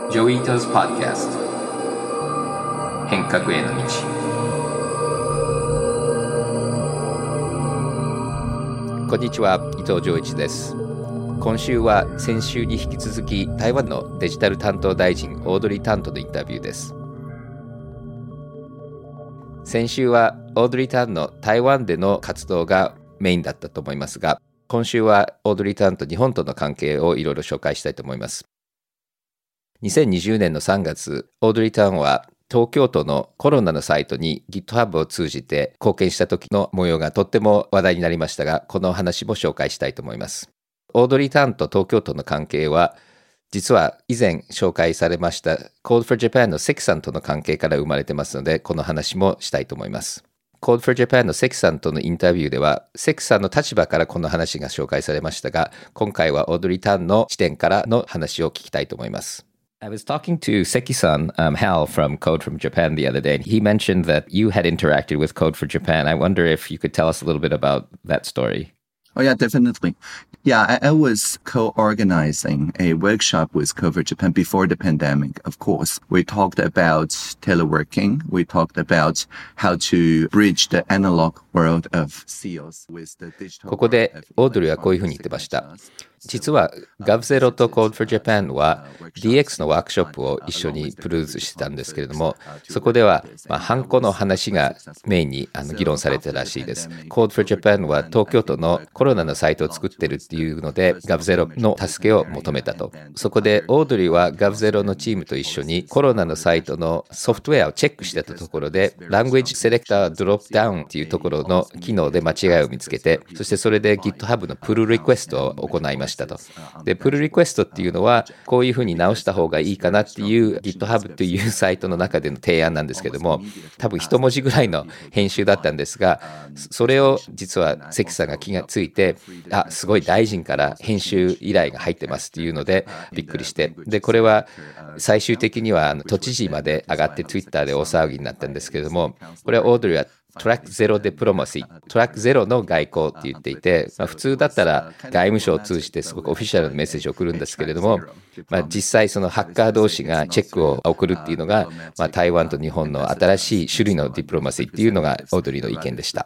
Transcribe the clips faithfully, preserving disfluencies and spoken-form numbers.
ジョイタズ・パッドキャスト変革への道。 こんにちは、伊藤浄一です。今週は先週に引き続き台湾のデジタル担当大臣オードリー・タンとのインタビューです。先週はオードリー・タンの台湾での活動がメインだったと思いますが、今週はオードリー・タンと日本との関係をいろいろ紹介したいと思います。にせんにじゅうねんのさんがつ、オードリー・タンは東京都のコロナのサイトに GitHub を通じて貢献した時の模様がとっても話題になりましたが、この話も紹介したいと思います。オードリー・タンと東京都の関係は、実は以前紹介されました Code for Japan の関さんとの関係から生まれてますので、この話もしたいと思います。Code for Japan の関さんとのインタビューでは、関さんの立場からこの話が紹介されましたが、今回はオードリー・タンの視点からの話を聞きたいと思います。I was talking to Seki-san, um, Hal from Code from Japan the other day, and he mentioned that you had interacted with Code for Japan. I wonder if you could tell us a little bit about that story. Oh, yeah, definitely. Yeah, I, I was co-organizing a workshop with Code for Japan before the pandemic, of course. We talked about teleworking. We talked about how to bridge the analog world of seals with the digital. ここでオードリーはこういうふうに言ってました。実は ガブゼロ と Code for Japan は ディーエックス のワークショップを一緒にプロデュースしてたんですけれども、そこでは、まあ、ハンコの話がメインにあの議論されてたらしいです。Code for Japan は東京都のコロナのサイトを作ってるっていうので ガブゼロ の助けを求めたと。そこでオードリーは ガブゼロ のチームと一緒にコロナのサイトのソフトウェアをチェックしてたところで Language Selector Drop Down っていうところの機能で間違いを見つけて、そしてそれで GitHub のプルリクエストを行いましたと。で、プルリクエストっていうのはこういうふうに直した方がいいかなっていう GitHub というサイトの中での提案なんですけども、多分一文字ぐらいの編集だったんですが、それを実は関さんが気がついて、あ、すごい大臣から編集依頼が入ってますっていうのでびっくりして、でこれは最終的には都知事まで上がって Twitter で大騒ぎになったんですけれども、これはオードリーはトラックゼロデプロマシー、トラックゼロの外交って言っていて、まあ、普通だったら外務省を通じてすごくオフィシャルなメッセージを送るんですけれども、まあ、実際そのハッカー同士がチェックを送るっていうのが、まあ、台湾と日本の新しい種類のディプロマシーっていうのがオードリーの意見でした。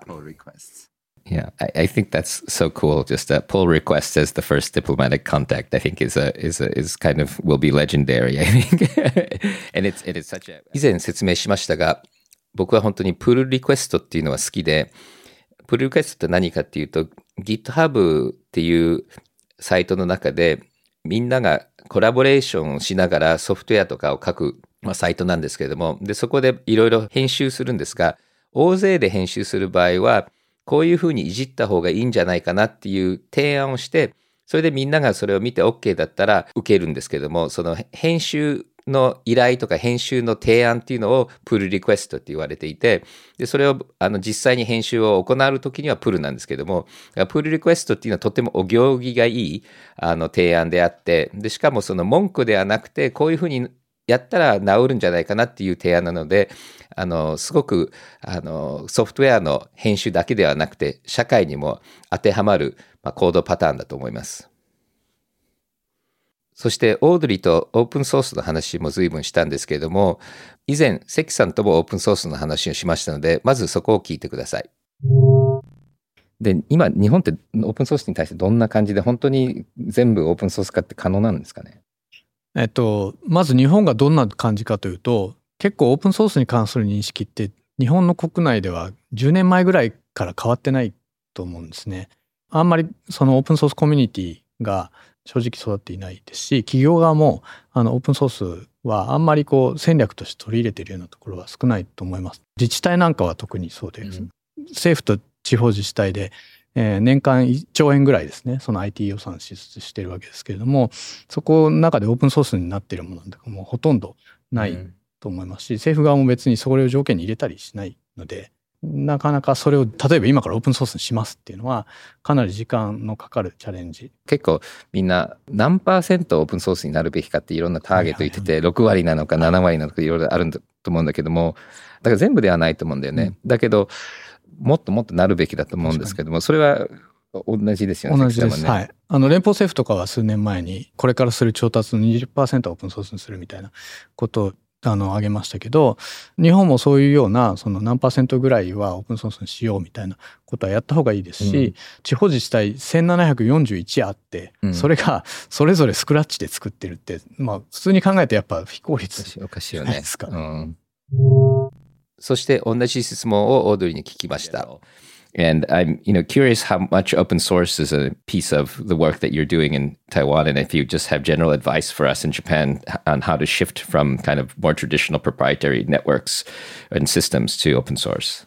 Yeah, I, I think that's so cool. Just a pull request as the first diplomatic contact, I think is a is a, is kind of will be legendary. I think, and it's it is such a. 以前説明しましたが、僕は本当にプルリクエストっていうのは好きで、プルリクエストって何かっていうと GitHub っていうサイトの中でみんながコラボレーションをしながらソフトウェアとかを書く、まあ、サイトなんですけれども、でそこでいろいろ編集するんですが、大勢で編集する場合はこういうふうにいじった方がいいんじゃないかなっていう提案をして、それでみんながそれを見て OK だったら受けるんですけれども、その編集の依頼とか編集の提案っていうのをプルリクエストって言われていて、でそれをあの実際に編集を行うときにはプルなんですけども、プルリクエストっていうのはとてもお行儀がいいあの提案であって、でしかもその文句ではなくてこういうふうにやったら治るんじゃないかなっていう提案なので、あのすごくあのソフトウェアの編集だけではなくて社会にも当てはまる、まあ、コードパターンだと思います。そしてオードリーとオープンソースの話も随分したんですけれども、以前関さんともオープンソースの話をしましたので、まずそこを聞いてください。で、今日本ってオープンソースに対してどんな感じで、本当に全部オープンソース化って可能なんですかね。 えっとまず日本がどんな感じかというと、結構オープンソースに関する認識って日本の国内ではじゅうねんまえぐらいから変わってないと思うんですね。あんまりそのオープンソースコミュニティが正直育っていないですし、企業側もあのオープンソースはあんまりこう戦略として取り入れているようなところは少ないと思います。自治体なんかは特にそうです、うん、政府と地方自治体で、えー、年間いっちょうえんぐらいですね、その アイティー 予算支出しているわけですけれども、そこの中でオープンソースになっているものなんてもうほとんどないと思いますし、うん、政府側も別にそれを条件に入れたりしないので、なかなかそれを例えば今からオープンソースにしますっていうのはかなり時間のかかるチャレンジ。 結構みんな何パーセントオープンソースになるべきかっていろんなターゲット言ってて、ろくわりなのかななわりなのかいろいろあると思うんだけども、だから全部ではないと思うんだよね、うん、だけどもっともっとなるべきだと思うんですけども、それは同じですよね。 同じです。はい。あの連邦政府とかは数年前にこれからする調達の にじゅっパーセント はオープンソースにするみたいなことをあの挙げましたけど、日本もそういうようなその何パーセントぐらいはオープンソースにしようみたいなことはやった方がいいですし、うん、地方自治体せんななひゃくよんじゅういちあって、うん、それがそれぞれスクラッチで作ってるって、まあ普通に考えてやっぱ非効率じゃないですか。 おかしいよね。うん、そして同じ質問をオードリーに聞きました。 And I'm, you know, curious how much open source is a piece of the work that you're doing in Taiwan, and if you just have general advice for us in Japan on how to shift from kind of more traditional proprietary networks and systems to open source.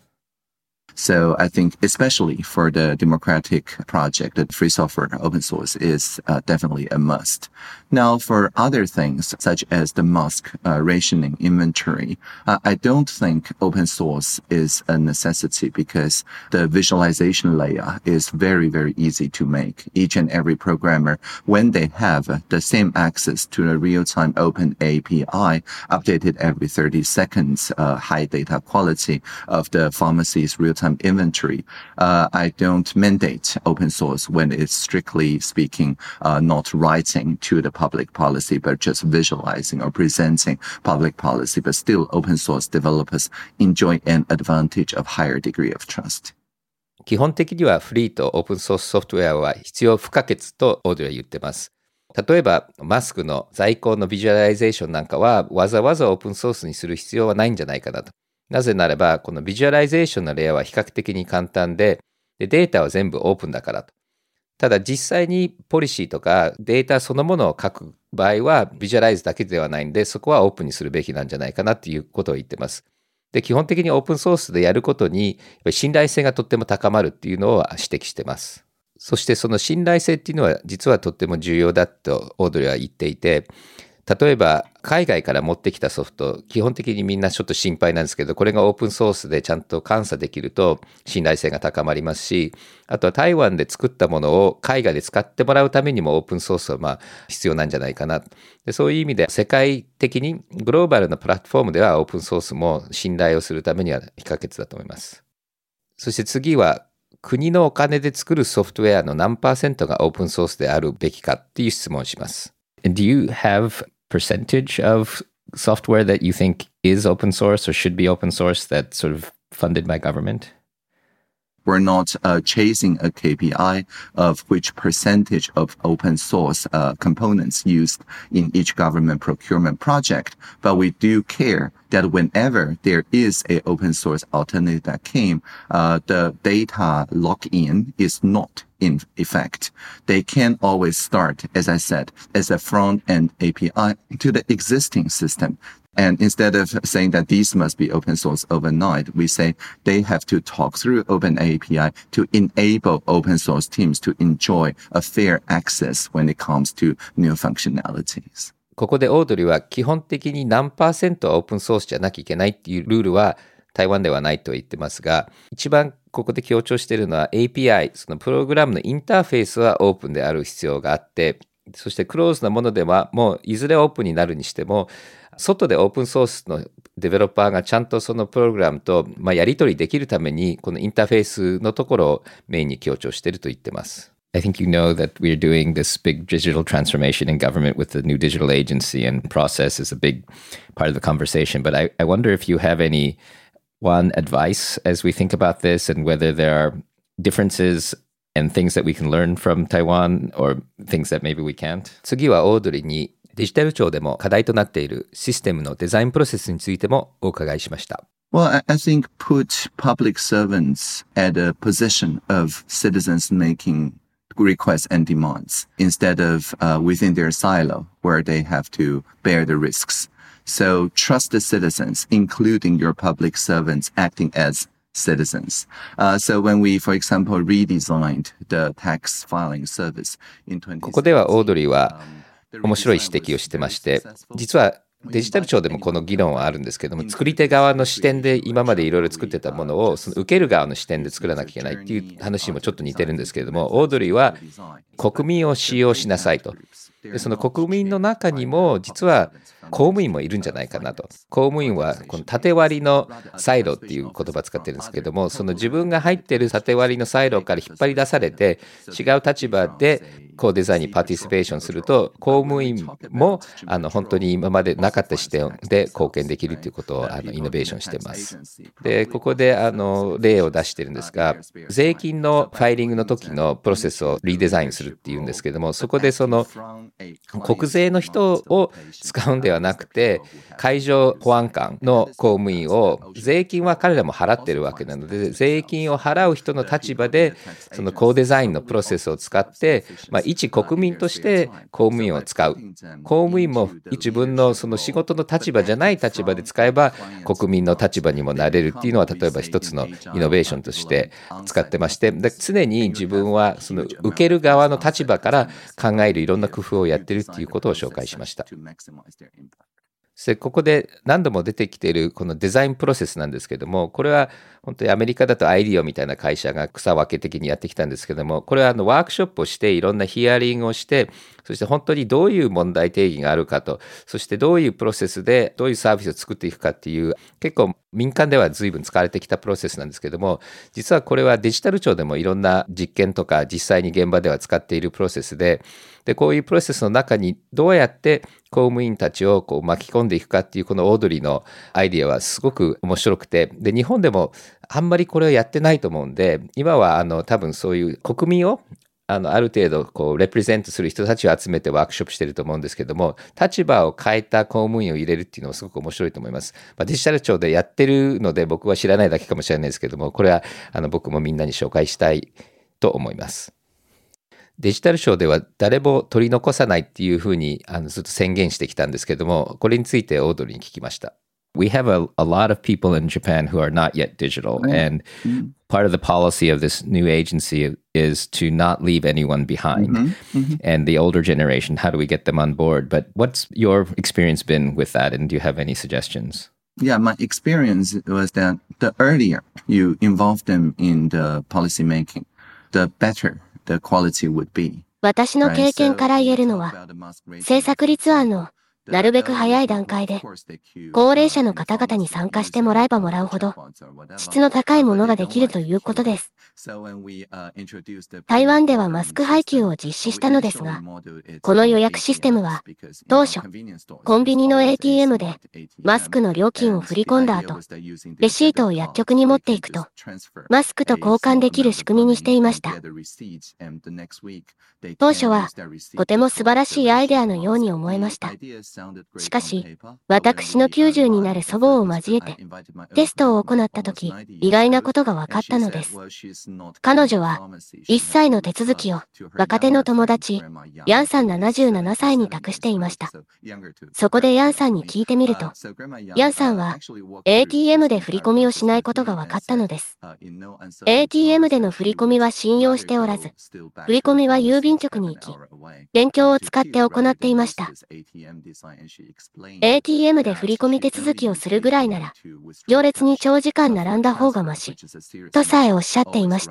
So I think especially for the democratic project, that free software open source is uh, definitely a must. Now, for other things such as the mosque uh, rationing inventory, uh, I don't think open source is a necessity because the visualization layer is very, very easy to make. Each and every programmer, when they have the same access to the real-time open A P I, updated every thirty seconds, uh, high data quality of the pharmacy's real-time inventory, uh, I don't mandate open source when it's strictly speaking, uh, not writing to the public policy, but just visualizing or presenting public policy. But still, open source developers enjoy an advantage of higher degree of trust. 基本的にはフリーとオープンソースソフトウェアは必要不可欠とオードリーは言ってます。例えばマスクの在庫のビジュアライゼーションなんかはわざわざオープンソースにする必要はないんじゃないかなと。なぜならば、このビジュアライゼーションのレイヤーは比較的に簡単で、でデータは全部オープンだからと。ただ実際にポリシーとかデータそのものを書く場合はビジュアライズだけではないんで、そこはオープンにするべきなんじゃないかなっていうことを言ってます。で、基本的にオープンソースでやることに信頼性がとっても高まるっていうのを指摘してます。そしてその信頼性っていうのは実はとっても重要だとオードリーは言っていて、例えば海外から持ってきたソフト、基本的にみんなちょっと心配なんですけど、これがオープンソースでちゃんと監査できると信頼性が高まりますし、あとは台湾で作ったものを海外で使ってもらうためにもオープンソースはまあ必要なんじゃないかな。で、そういう意味で世界的にグローバルなプラットフォームではオープンソースも信頼をするためには不可欠だと思います。そして次は国のお金で作るソフトウェアの何パーセントがオープンソースであるべきかっていう質問をします。 Do you have percentage of software that you think is open source or should be open source that's sort of funded by government? We're not uh, chasing a K P I of which percentage of open source uh, components used in each government procurement project, but we do care that whenever there is a open source alternative that came, uh, the data lock-in is not in effect. They can always start, as I said, as a front-end A P I to the existing system. And instead of saying that these must be open source overnight, we say they have to talk through Open A P I to enable open source teams to enjoy a fair access when it comes to new functionalities. ここでオードリーは基本的に何パーセントはオープンソースじゃなきゃいけないっていうルールは台湾ではないと言ってますが、一番ここで強調しているのは エーピーアイ、そのプログラムのインターフェースはオープンである必要があって、そしてクローズなものではもういずれオープンになるにしても、外でオープンソースのデベロッパーがちゃんとそのプログラムと、まあ、やり取りできるためにこのインターフェースのところをメインに強調していると言ってます。 I think you know that we're doing this big digital transformation in government with the new digital agency, and process is a big part of the conversation. But I, I wonder if you have any one advice as we think about this and whether there are differences and things that we can learn from Taiwan or things that maybe we can't. 次はオードリーにデジタル庁でも課題となっているシステムのデザインプロセスについてもお伺いしました。 Well, I, I think put public servants at a position of citizens making requests and demands instead of uh, within their silo where they have to bear the risks. So trust the citizens, including your public servants acting as citizens. Uh, so when we, for example, redesigned the tax filing service in twenty seventeen, ここではオードリーは面白い指摘をしてまして、実はデジタル庁でもこの議論はあるんですけども、作り手側の視点で今までいろいろ作ってたものをその受ける側の視点で作らなきゃいけないっていう話にもちょっと似てるんですけれども、オードリーは国民を使用しなさいと。でその国民の中にも実は公務員もいるんじゃないかなと。公務員はこの縦割りのサイロっていう言葉を使ってるんですけども、その自分が入ってる縦割りのサイロから引っ張り出されて違う立場でコーデザインにパーティシペーションすると、公務員もあの本当に今までなかった視点で貢献できるということをあのイノベーションしています。で、ここであの例を出してるんですが、税金のファイリングの時のプロセスをリデザインするっていうんですけども、そこでその国税の人を使うんではなくて、海上保安官の公務員を、税金は彼らも払ってるわけなので、税金を払う人の立場でそのコーデザインのプロセスを使って、まあ、一国民として公務員を使う。公務員も自分のその仕事の立場じゃない立場で使えば国民の立場にもなれるっていうのは、例えば一つのイノベーションとして使ってまして、で常に自分はその受ける側の立場から考えるいろんな工夫をやってるっていうことを紹介しました。でここで何度も出てきているこのデザインプロセスなんですけども、これは本当にアメリカだとアイディオみたいな会社が草分け的にやってきたんですけども、これはあのワークショップをしていろんなヒアリングをして、そして本当にどういう問題定義があるかと、そしてどういうプロセスでどういうサービスを作っていくかっていう、結構民間では随分使われてきたプロセスなんですけども、実はこれはデジタル庁でもいろんな実験とか実際に現場では使っているプロセスで、でこういうプロセスの中にどうやって公務員たちをこう巻き込んでいくかっていう、このオードリーのアイディアはすごく面白くて、で日本でもあんまりこれをやってないと思うんで、今はあの多分そういう国民をあのある程度こうレプレゼントする人たちを集めてワークショップしてると思うんですけども、立場を変えた公務員を入れるっていうのはすごく面白いと思います。まあ、デジタル庁でやってるので僕は知らないだけかもしれないですけども、これはあの僕もみんなに紹介したいと思います。デジタル庁では誰も取り残さないっていうふうにあのずっと宣言してきたんですけども、これについてオードリーに聞きました。 We have a, a lot of people in Japan who are not yet digital, and part of the policy of this new agency is to not leave anyone behind. Mm-hmm. Mm-hmm. And the older generation, how do we get them on board? But what's your experience been with that, and do you have any suggestions? Yeah, my experience was that the earlier you involve them in the policy making, the better the quality would be. 私の経験から言えるのは、政策立案のなるべく早い段階で、高齢者の方々に参加してもらえばもらうほど、質の高いものができるということです。台湾ではマスク配給を実施したのですが、この予約システムは、当初、コンビニの エーティーエム でマスクの料金を振り込んだ後、レシートを薬局に持っていくと、マスクと交換できる仕組みにしていました。当初は、とても素晴らしいアイデアのように思えました。しかし、私のきゅうじゅうになる祖母を交えて、テストを行ったとき、意外なことが分かったのです。彼女は、いっさいの手続きを、若手の友達、ヤンさんななじゅうななさいに託していました。そこでヤンさんに聞いてみると、ヤンさんは、エーティーエム で振り込みをしないことが分かったのです。エーティーエム での振り込みは信用しておらず、振り込みは郵便局に行き、勉強を使って行っていました。エーティーエム で振り込み手続きをするぐらいなら、行列に長時間並んだ方がまし、とさえおっしゃっていました。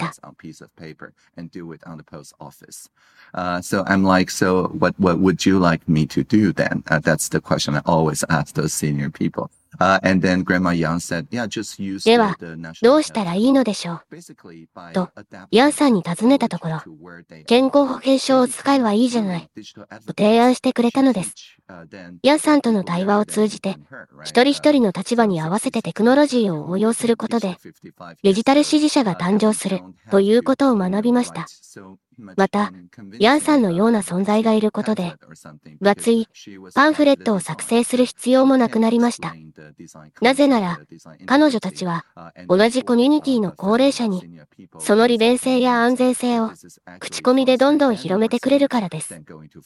Uh, so I'm like, so what, what would you like me to do then? Uh, that's the question I always ask those senior people.Uh, and then Grandma Yang said, yeah, just use では、どうしたらいいのでしょうと、ヤンさんに尋ねたところ、健康保険証を使えばいいじゃない、と提案してくれたのです。ヤンさんとの対話を通じて、一人一人の立場に合わせてテクノロジーを応用することで、デジタル支持者が誕生するということを学びました。また、ヤンさんのような存在がいることで、分厚いパンフレットを作成する必要もなくなりました。なぜなら、彼女たちは同じコミュニティの高齢者に、その利便性や安全性を口コミでどんどん広めてくれるからです。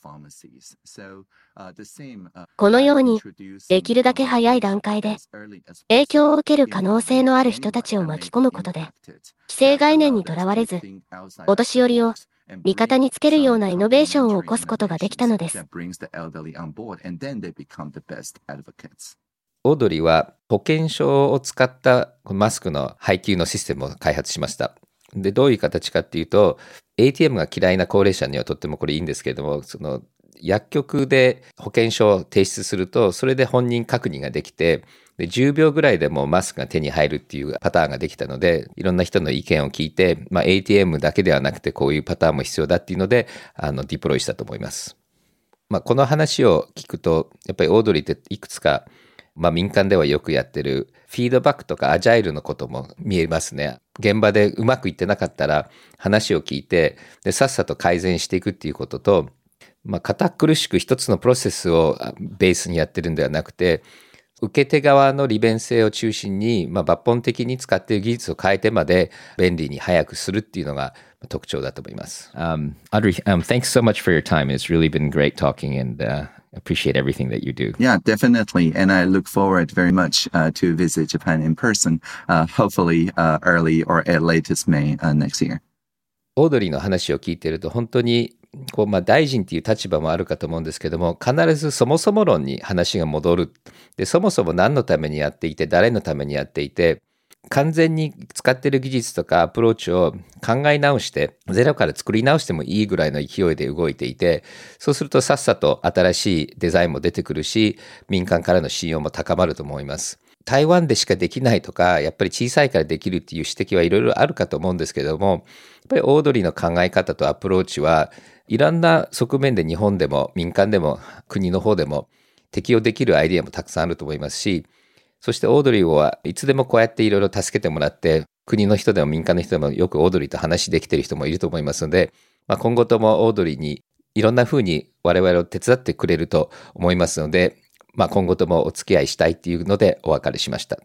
このように、できるだけ早い段階で、影響を受ける可能性のある人たちを巻き込むことで、既成概念にとらわれず、お年寄りを味方につけるようなイノベーションを起こすことができたのです。 オードリーは保険証を使ったマスクの配給のシステムを開発しました。で、どういう形かっていうと、エーティーエム が嫌いな高齢者にはとってもこれいいんですけれども、その薬局で保険証を提出すると、それで本人確認ができて、でじゅうびょうぐらいでもうマスクが手に入るっていうパターンができたので、いろんな人の意見を聞いて、まあ、エーティーエム だけではなくてこういうパターンも必要だっていうので、あのディプロイしたと思います。まあ、この話を聞くと、やっぱりオードリーっていくつか、まあ、民間ではよくやってるフィードバックとかアジャイルのことも見えますね。現場でうまくいってなかったら話を聞いて、でさっさと改善していくっていうことと、まあ、堅苦しく一つのプロセスをベースにやってるんではなくて、受け手側の利便性を中心に、まあ、抜本的に使っている技術を変えてまで便利に早くするっていうのが特徴だと思います。 Um, Audrey, um, thanks so much for your time. It's really been great talking and uh, appreciate everything that you do. Yeah, definitely. And I look forward very much uh, to visit Japan in person, uh, hopefully uh, early or at latest May uh, next year. オードリーの話を聞いていると本当にこうまあ大臣っていう立場もあるかと思うんですけども、必ずそもそも論に話が戻る。で、そもそも何のためにやっていて、誰のためにやっていて、完全に使っている技術とかアプローチを考え直して、ゼロから作り直してもいいぐらいの勢いで動いていて、そうするとさっさと新しいデザインも出てくるし、民間からの信用も高まると思います。台湾でしかできないとか、やっぱり小さいからできるっていう指摘はいろいろあるかと思うんですけども、やっぱりオードリーの考え方とアプローチはいろんな側面で日本でも民間でも国の方でも適用できるアイディアもたくさんあると思いますし、そしてオードリーはいつでもこうやっていろいろ助けてもらって、国の人でも民間の人でもよくオードリーと話できている人もいると思いますので、まあ、今後ともオードリーにいろんな風に我々を手伝ってくれると思いますので、まあ、今後ともお付き合いしたいっていうのでお別れしました。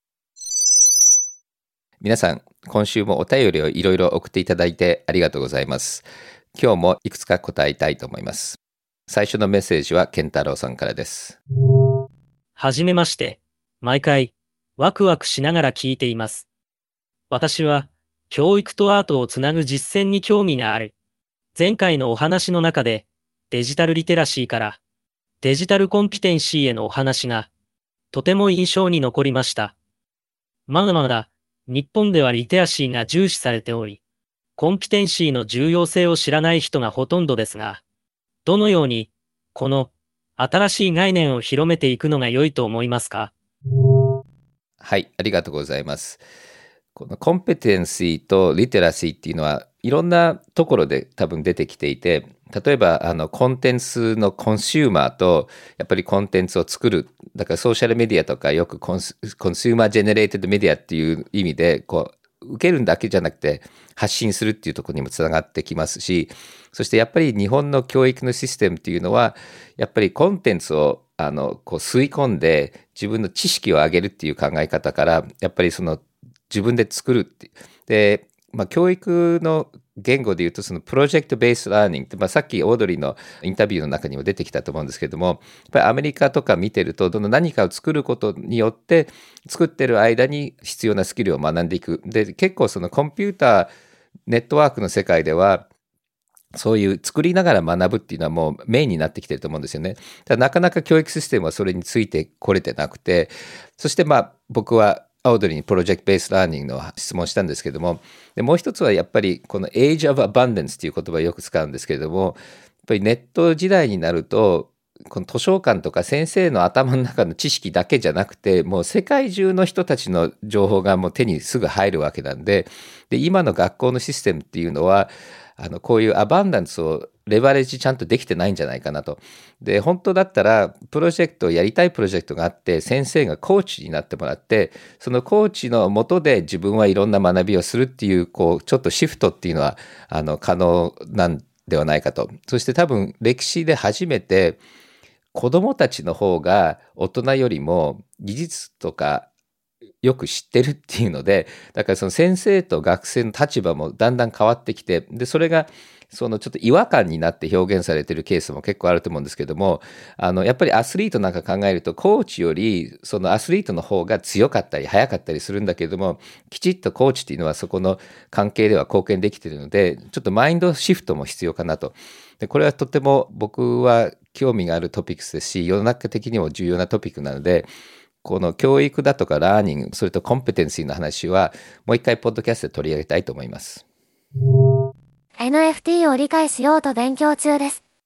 皆さん、今週もお便りをいろいろ送っていただいてありがとうございます。今日もいくつか答えたいと思います。最初のメッセージは健太郎さんからです。 はじめまして。毎回、ワクワクしながら聞いています。私は、教育とアートをつなぐ実践に興味がある。前回のお話の中で、デジタルリテラシーから、デジタルコンピテンシーへのお話が、とても印象に残りました。まだまだ、日本ではリテラシーが重視されており、コンピテンシーの重要性を知らない人がほとんどですが、どのように、この新しい概念を広めていくのが良いと思いますか？ はい、ありがとうございます。このコンペテンシーとリテラシーっていうのはいろんなところで多分出てきていて、例えばあのコンテンツのコンシューマーとやっぱりコンテンツを作る、だからソーシャルメディアとかよくコンス、コンシューマージェネレーテッドメディアっていう意味でこう受けるだけじゃなくて発信するっていうところにもつながってきますし、そしてやっぱり日本の教育のシステムっていうのはやっぱりコンテンツをあのこう吸い込んで自分の知識を上げるっていう考え方からやっぱりその自分で作るってで、まあ、教育の言語で言うとそのプロジェクトベースラーニングって、まあ、さっきオードリーのインタビューの中にも出てきたと思うんですけども、やっぱりアメリカとか見てるとどの何かを作ることによって作ってる間に必要なスキルを学んでいく。で結構そのコンピューターネットワークの世界ではそういう作りながら学ぶっていうのはもうメインになってきてると思うんですよね。ただなかなか教育システムはそれについてこれてなくて、そしてまあ僕はオードリーにプロジェクトベースラーニングの質問したんですけども、でもう一つはやっぱりこの Age of Abundance っていう言葉をよく使うんですけれども、やっぱりネット時代になるとこの図書館とか先生の頭の中の知識だけじゃなくて、もう世界中の人たちの情報がもう手にすぐ入るわけなんで、で今の学校のシステムっていうのはあのこういうアバンダンスをレバレッジちゃんとできてないんじゃないかなと。で本当だったらプロジェクトやりたいプロジェクトがあって、先生がコーチになってもらって、そのコーチの下で自分はいろんな学びをするっていう、こうちょっとシフトっていうのはあの可能なんではないかと。そして多分歴史で初めて子どもたちの方が大人よりも技術とかよく知ってるっていうので、だからその先生と学生の立場もだんだん変わってきて、でそれがそのちょっと違和感になって表現されてるケースも結構あると思うんですけども、あのやっぱりアスリートなんか考えるとコーチよりそのアスリートの方が強かったり速かったりするんだけれども、きちっとコーチっていうのはそこの関係では貢献できているので、ちょっとマインドシフトも必要かなと。でこれはとても僕は興味があるトピックスですし、世の中的にも重要なトピックなので、この教育だとかラーニング、それとコンペテンシーの話はもう一回ポッドキャストで取り上げたいと思います。 エヌエフティー を理解しようと勉強中です。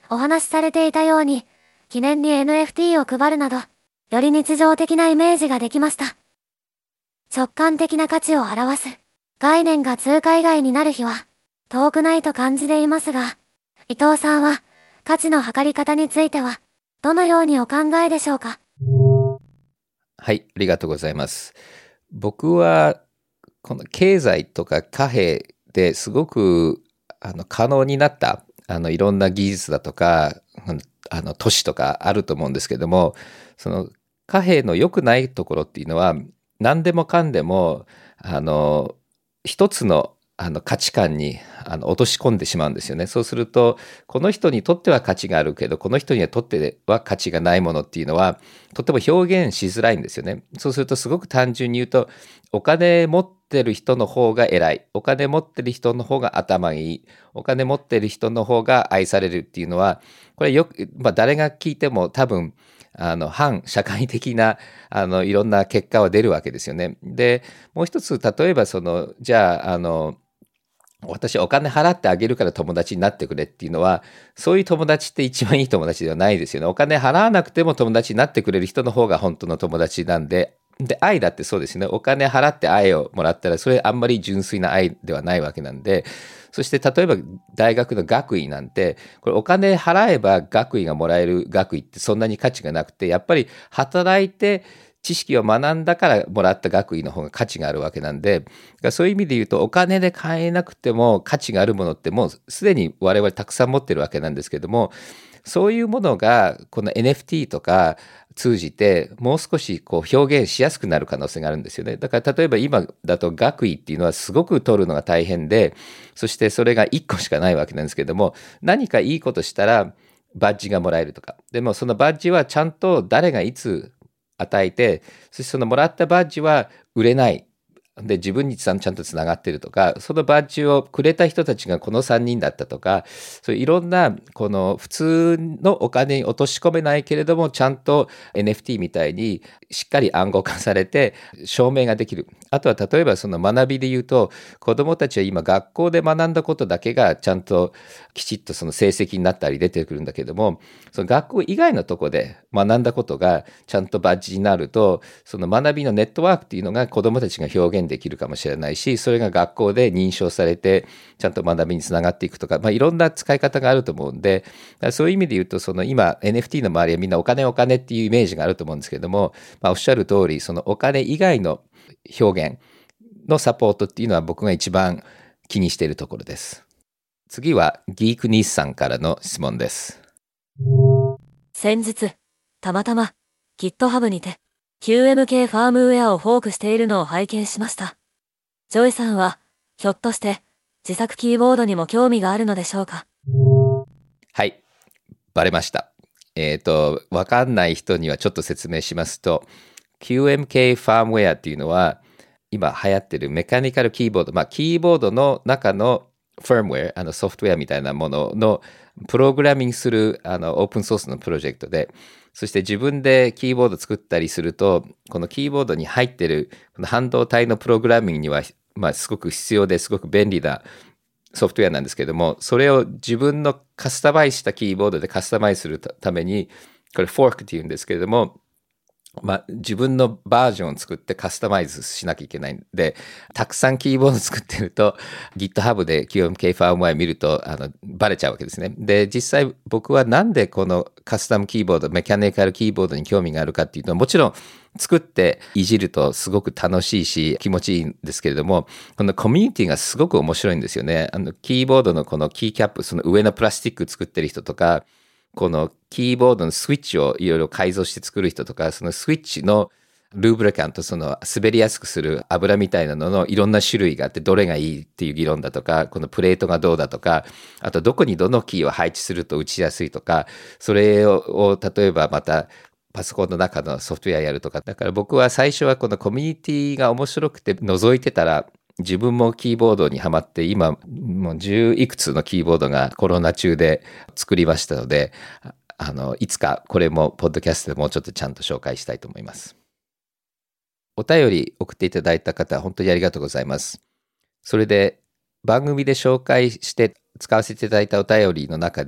お話しされていたように、記念に エヌエフティー を配るなど、より日常的なイメージができました。直感的な価値を表す概念が通貨以外になる日は遠くないと感じていますが、伊藤さんは価値の測り方についてはどのようにお考えでしょうか？ はい、ありがとうございます。僕はこの経済とか貨幣ですごくあの可能になったあのいろんな技術だとかあの都市とかあると思うんですけども、その貨幣の良くないところっていうのは何でもかんでもあの一つのあの価値観にあの落とし込んでしまうんですよね。そうするとこの人にとっては価値があるけどこの人にとっては価値がないものっていうのはとても表現しづらいんですよね。そうするとすごく単純に言うとお金持ってる人の方が偉い、お金持ってる人の方が頭いい、お金持ってる人の方が愛されるっていうのはこれよく、まあ、誰が聞いても多分あの反社会的なあのいろんな結果は出るわけですよね。でもう一つ例えばそのじゃああの私お金払ってあげるから友達になってくれっていうのはそういう友達って一番いい友達ではないですよね。お金払わなくても友達になってくれる人の方が本当の友達なんで、で愛だってそうですね。お金払って愛をもらったらそれあんまり純粋な愛ではないわけなんで、そして例えば大学の学位なんてこれお金払えば学位がもらえる学位ってそんなに価値がなくて、やっぱり働いて知識を学んだからもらった学位の方が価値があるわけなんで、そういう意味で言うとお金で買えなくても価値があるものってもうすでに我々たくさん持ってるわけなんですけども、そういうものがこの エヌエフティー とか通じてもう少しこう表現しやすくなる可能性があるんですよね。だから例えば今だと学位っていうのはすごく取るのが大変で、そしてそれがいっこしかないわけなんですけども、何かいいことしたらバッジがもらえるとか、でもそのバッジはちゃんと誰がいつ与えて、そしてそのもらったバッジは売れないで自分にちゃんとつながってるとか、そのバッジをくれた人たちがこのさんにんだったとか、そういういろんなこの普通のお金に落とし込めないけれどもちゃんと エヌエフティー みたいにしっかり暗号化されて証明ができる。あとは例えばその学びで言うと、子どもたちは今学校で学んだことだけがちゃんときちっとその成績になったり出てくるんだけども、その学校以外のところで学んだことがちゃんとバッジになると、その学びのネットワークっていうのが子どもたちが表現できるかもしれないし、それが学校で認証されてちゃんと学びにつながっていくとか、まあ、いろんな使い方があると思うんで、そういう意味で言うとその今 エヌエフティー の周りはみんなお金お金っていうイメージがあると思うんですけれども、まあ、おっしゃる通りそのお金以外の表現のサポートっていうのは僕が一番気にしているところです。次はギークニースさんからの質問です。 先日たまたま GitHub にて キューエムケー ファームウェアをフォークしているのを拝見しました。ジョイさんはひょっとして自作キーボードにも興味があるのでしょうか？ はい、バレました。えっと、わかんない人にはちょっと説明しますと、キューエムケー ファームウェアっていうのは今流行ってるメカニカルキーボード、まあキーボードの中のファームウェア、あのソフトウェアみたいなもののプログラミングするあのオープンソースのプロジェクトで、そして自分でキーボード作ったりすると、このキーボードに入ってるこの半導体のプログラミングには、まあ、すごく必要ですごく便利なソフトウェアなんですけども、それを自分のカスタマイズしたキーボードでカスタマイズするために、これフォークっていうんですけれども、まあ、自分のバージョンを作ってカスタマイズしなきゃいけないんで、たくさんキーボード作ってると GitHub で キューエムケー ファームウェア見るとあのバレちゃうわけですね。で、実際僕はなんでこのカスタムキーボード、メカニカルキーボードに興味があるかっていうと、もちろん作っていじるとすごく楽しいし気持ちいいんですけれども、このコミュニティがすごく面白いんですよね。あのキーボードのこのキーキャップ、その上のプラスチック作ってる人とか、このキーボードのスイッチをいろいろ改造して作る人とか、そのスイッチのルーブリカント、その滑りやすくする油みたいなののいろんな種類があって、どれがいいっていう議論だとか、このプレートがどうだとか、あとどこにどのキーを配置すると打ちやすいとか、それを例えばまたパソコンの中のソフトウェアやるとか。だから僕は最初はこのコミュニティが面白くて覗いてたら、自分もキーボードにはまって、今もう十いくつのキーボードがコロナ中で作りましたので、あのいつかこれもポッドキャストでもうちょっとちゃんと紹介したいと思います。お便り送っていただいた方、本当にありがとうございます。それで番組で紹介して使わせていただいたお便りの中で、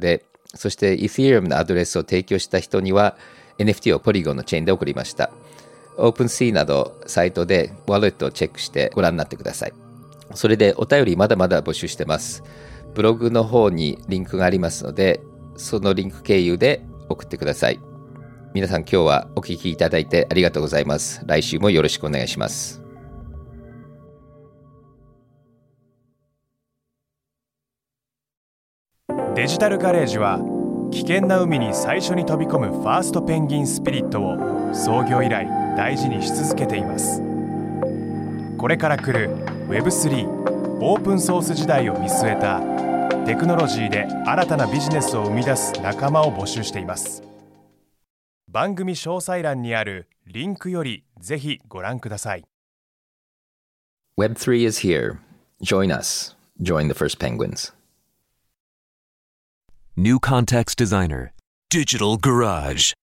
そして Ethereum のアドレスを提供した人には エヌエフティー を Polygon のチェーンで送りました。OpenSea などサイトでワレットをチェックしてご覧になってください。それでお便りまだまだ募集してます。ブログの方にリンクがありますので、そのリンク経由で送ってください。皆さん今日はお聞きいただいてありがとうございます。来週もよろしくお願いします。 デジタルガレージは危険な海に最初に飛び込むファーストペンギンスピリットを創業以来大事にし続けています。これから来る ウェブスリー オープンソース時代を見据えたテクノロジーで新たなビジネスを生み出す仲間を募集しています。番組詳細欄にあるリンクよりぜひご覧ください。 ウェブスリー is here. Join us. Join the first penguins. New Context Designer Digital Garage